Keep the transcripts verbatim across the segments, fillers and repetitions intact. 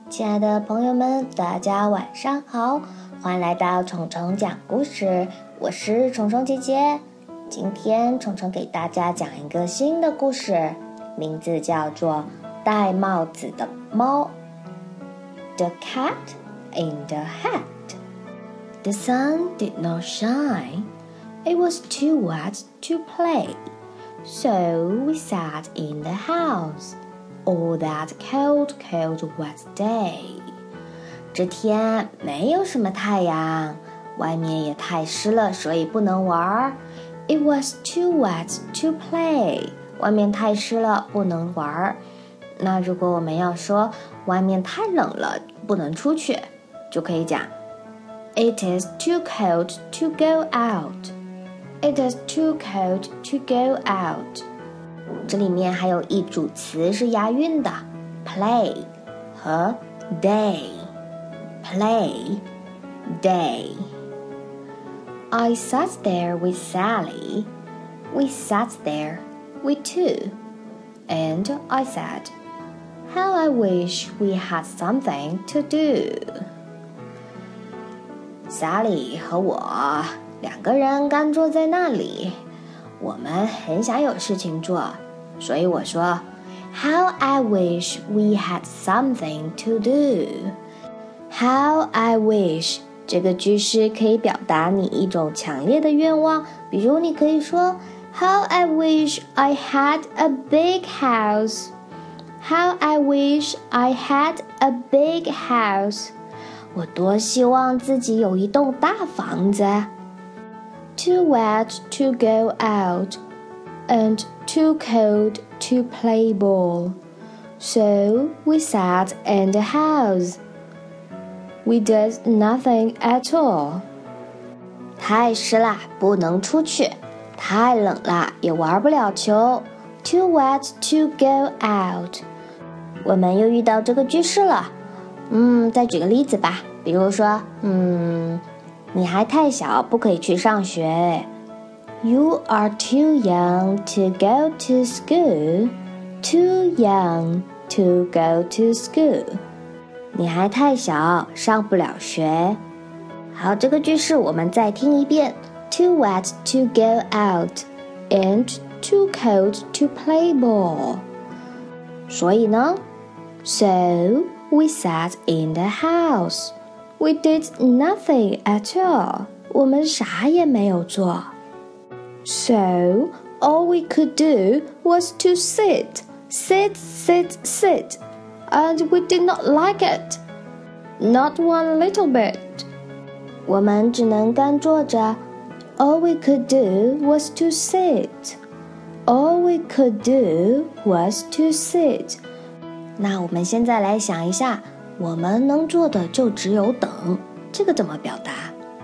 亲爱的朋友们，大家晚上好，欢迎来到虫虫讲故事，我是虫虫姐姐。今天虫虫给大家讲一个新的故事，名字叫做戴帽子的猫。 The cat in the hat. The sun did not shine. It was too wet to play, so we sat in the house all that cold, cold, wet day. 这天没有什么太阳，外面也太湿了，所以不能玩。It was too wet to play. 外面太湿了，不能玩。那如果我们要说外面太冷了，不能出去，就可以讲 It is too cold to go out. It is too cold to go out. 这里面还有一组词是押韵的 play 和 day. Play, day. I sat there with Sally. We sat there, we two. And I said, How I wish we had something to do. Sally 和我两个人干坐在那里，我们很想有事情做，所以我说 How I wish we had something to do. How I wish 这个句式可以表达你一种强烈的愿望，比如你可以说 How I wish I had a big house. How I wish I had a big house. 我多希望自己有一栋大房子。Too wet to go out, and too cold to play ball. So we sat in the house. We did nothing at all. 太湿了，不能出去。太冷了，也玩不了球。Too wet to go out. 我们又遇到这个句式了。嗯，再举个例子吧，比如说，嗯。你还太小，不可以去上学。You are too young to go to school. Too young to go to school. 你还太小，上不了学。好，这个句式我们再听一遍。Too wet to go out, and too cold to play ball. 所以呢 So we sat in the house.We did nothing at all. 我们啥也没有做。So, all we could do was to sit, sit, sit, sit. And we did not like it. Not one little bit. 我们只能干坐着。All we could do was to sit. All we could do was to sit. 那我们现在来想一下，我们能做的就只有等，这个怎么表达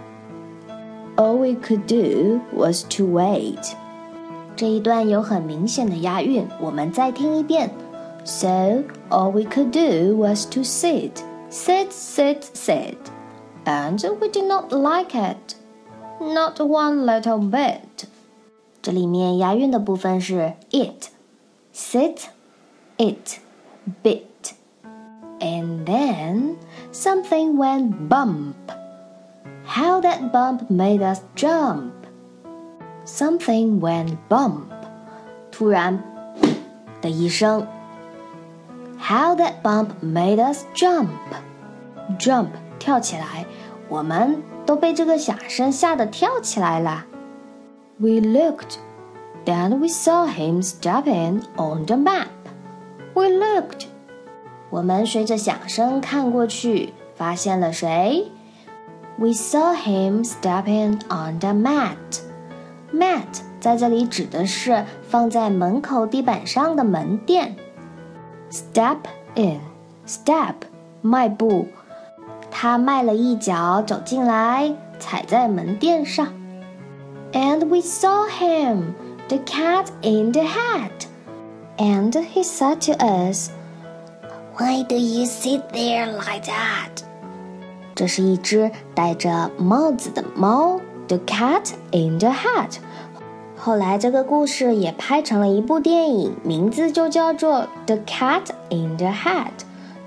？All we could do was to wait. 这一段有很明显的押韵，我们再听一遍。So all we could do was to sit, sit, sit, sit, and we did not like it, not one little bit. 这里面押韵的部分是 it, sit, it, bit.And then something went bump. How that bump made us jump. Something went bump. 突然的一声。How that bump made us jump. Jump 跳起来，我们都被这个响声吓得跳起来了。We looked, then we saw him stepping on the map. We looked.我们随着响声看过去，发现了谁 ？We saw him stepping on the mat. Mat 在这里指的是放在门口地板上的门垫。Step in, step 迈步，他迈了一脚走进来，踩在门垫上。And we saw him, the cat in the hat. And he said to us.Why do you sit there like that? 这是一只戴着帽子的猫 The cat in the hat. 后来这个故事也拍成了一部电影，名字就叫做 The Cat in the Hat.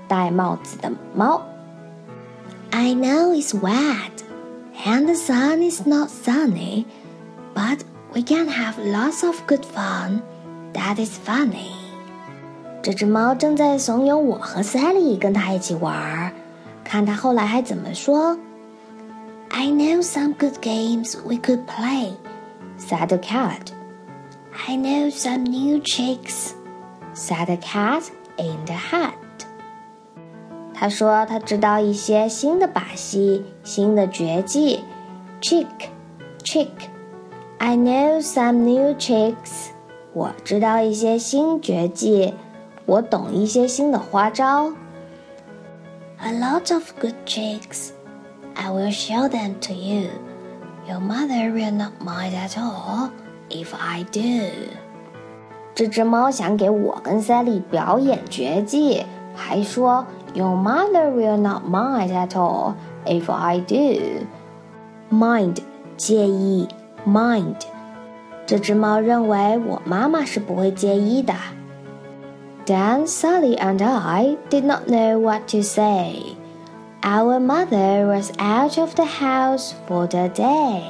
戴帽子的猫。I know it's wet, and the sun is not sunny, but we can have lots of good fun. That is funny. 这只猫正在怂恿我和 Sally 跟它一起玩，看它后来还怎么说。I know some good games we could play, said the cat. I know some new tricks, said the cat in the hat. 他说他知道一些新的把戏，新的绝技。Trick, trick. I know some new tricks. 我知道一些新绝技，我懂一些新的花招。A lot of good tricks. I will show them to you. Your mother will not mind at all if I do. 这只猫想给我跟 Sally 表演绝技，还说 Your mother will not mind at all if I do. Mind, 介意 mind. 这只猫认为我妈妈是不会介意的。Then Sally and I did not know what to say. Our mother was out of the house for the day.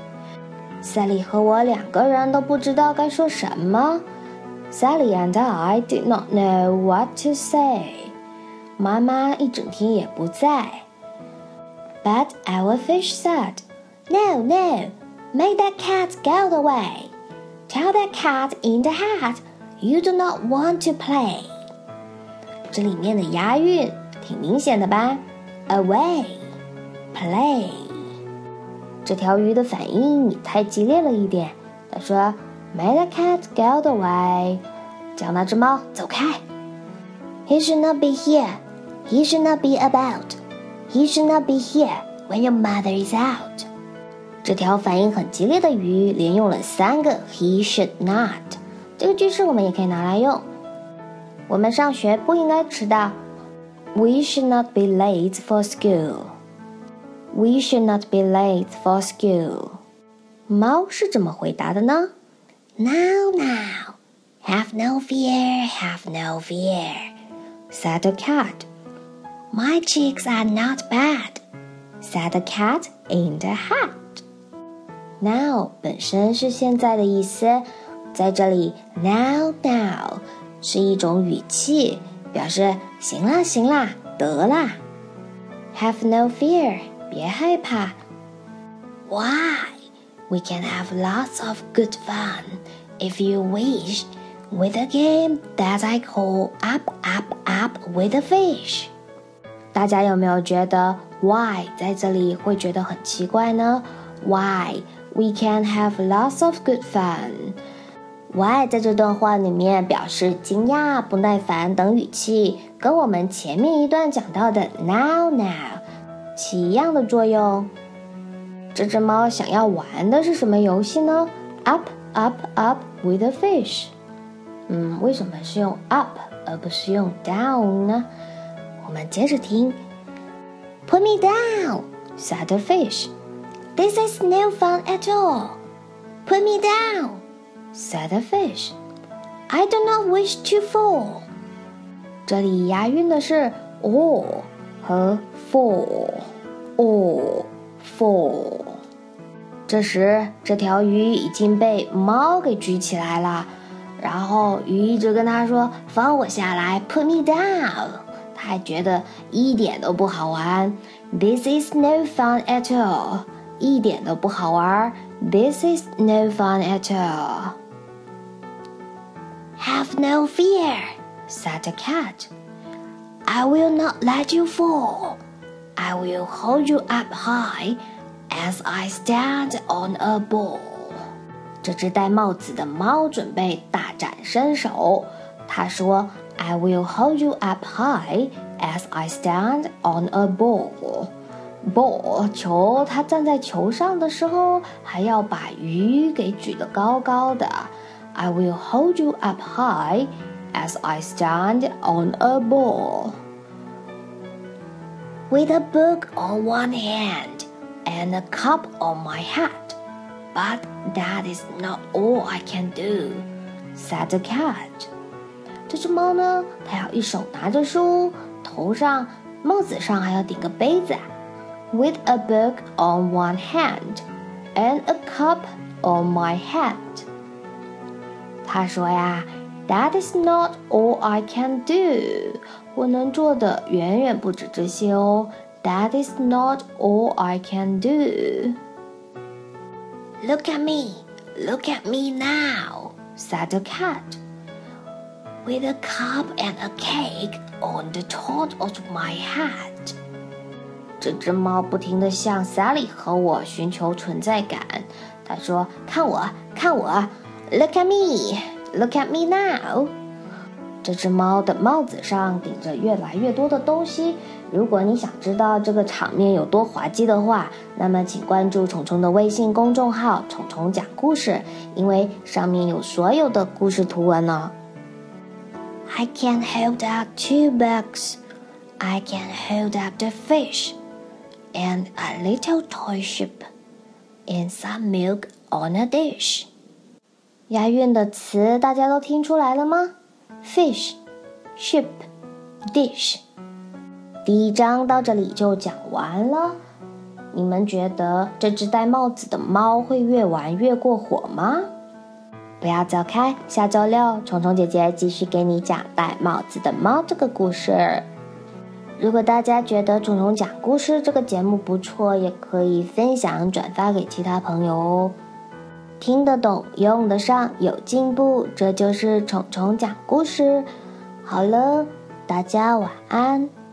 Sally 和我两个人都不知道该说什么。Sally and I did not know what to say. 妈妈一整天也不在。But our fish said, No, no, make that cat go away. Tell that cat in the hat you do not want to play. 这里面的押韵挺明显的吧？ Away, play. 这条鱼的反应也太激烈了一点。他说 Make the cat go away. 叫那只猫走开。He should not be here. He should not be about. He should not be here when your mother is out. 这条反应很激烈的鱼连用了三个 He should not. 这个句式我们也可以拿来用。我们上学不应该迟到。We should not be late for school. We should not be late for school. 猫是怎么回答的呢？ Now, now. Have no fear, have no fear, said the cat. My chicks are not bad, said the cat in the hat. Now 本身是现在的意思，在这里 now now 是一种语气，表示行啦行啦得啦。Have no fear 别害怕。Why? We can have lots of good fun if you wish with a game that I call Up Up Up with a Fish. 大家有没有觉得 why 在这里会觉得很奇怪呢？ Why we can have lots of good fun. Why 在这段话里面表示惊讶、不耐烦等语气，跟我们前面一段讲到的 now now 起一样的作用。这只猫想要玩的是什么游戏呢？ Up Up Up with a Fish. 嗯，为什么是用 up 而不是用 down 呢？我们接着听。Put me down, said the fish. This is no fun at all. Put me down, said the fish. I do not wish to fall. 这里押韵的是 all 和 fall. all, fall. 这时，这条鱼已经被猫给举起来了。然后鱼一直跟他说放我下来 Put me down. 他还觉得一点都不好玩 This is no fun at all. 一点都不好玩 This is no fun at all. Have no fear, said the cat. I will not let you fall. I will hold you up high as I stand on a ball.这只戴帽子的猫准备大展身手。他说 I will hold you up high as I stand on a ball. Ball 球，它站在球上的时候还要把鱼给举得高高的。I will hold you up high as I stand on a ball. With a book on one hand and a cup on my hat.But that is not all I can do, said the cat. 这只猫呢，它要一手拿着书，头头上帽子上还要顶个杯子啊。With a book on one hand and a cup on my head. 他说呀 That is not all I can do. 我能做的远远不止这些哦。That is not all I can do. Look at me, look at me now, said the cat, with a cup and a cake on the top of my head. 这只猫不停地向 Sally 和我寻求存在感。它说：“看我，看我 ，Look at me, look at me now。”这只猫的帽子上顶着越来越多的东西。如果你想知道这个场面有多滑稽的话，那么请关注虫虫的微信公众号“虫虫讲故事”，因为上面有所有的故事图文呢。I can hold up two bugs. I can hold up the fish, and a little toy ship, and some milk on a dish. 押韵的词大家都听出来了吗？ Fish, ship, dish。第一章到这里就讲完了。你们觉得这只戴帽子的猫会越玩越过火吗？不要走开，下周六虫虫姐姐继续给你讲戴帽子的猫这个故事。如果大家觉得虫虫讲故事这个节目不错，也可以分享转发给其他朋友哦。听得懂，用得上，有进步，这就是虫虫讲故事。好了，大家晚安。